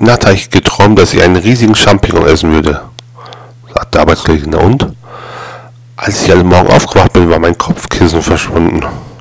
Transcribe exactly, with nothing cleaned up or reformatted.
Heute Nacht habe ich geträumt, dass ich einen riesigen Champignon essen würde, sagte der Arbeitskollege. Na und? Als ich heute Morgen aufgewacht bin, war mein Kopfkissen verschwunden.